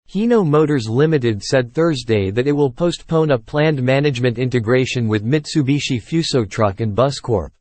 Hino Motors Limited said Thursday that it will postpone a planned management integration with Mitsubishi Fuso Truck and Bus Corp.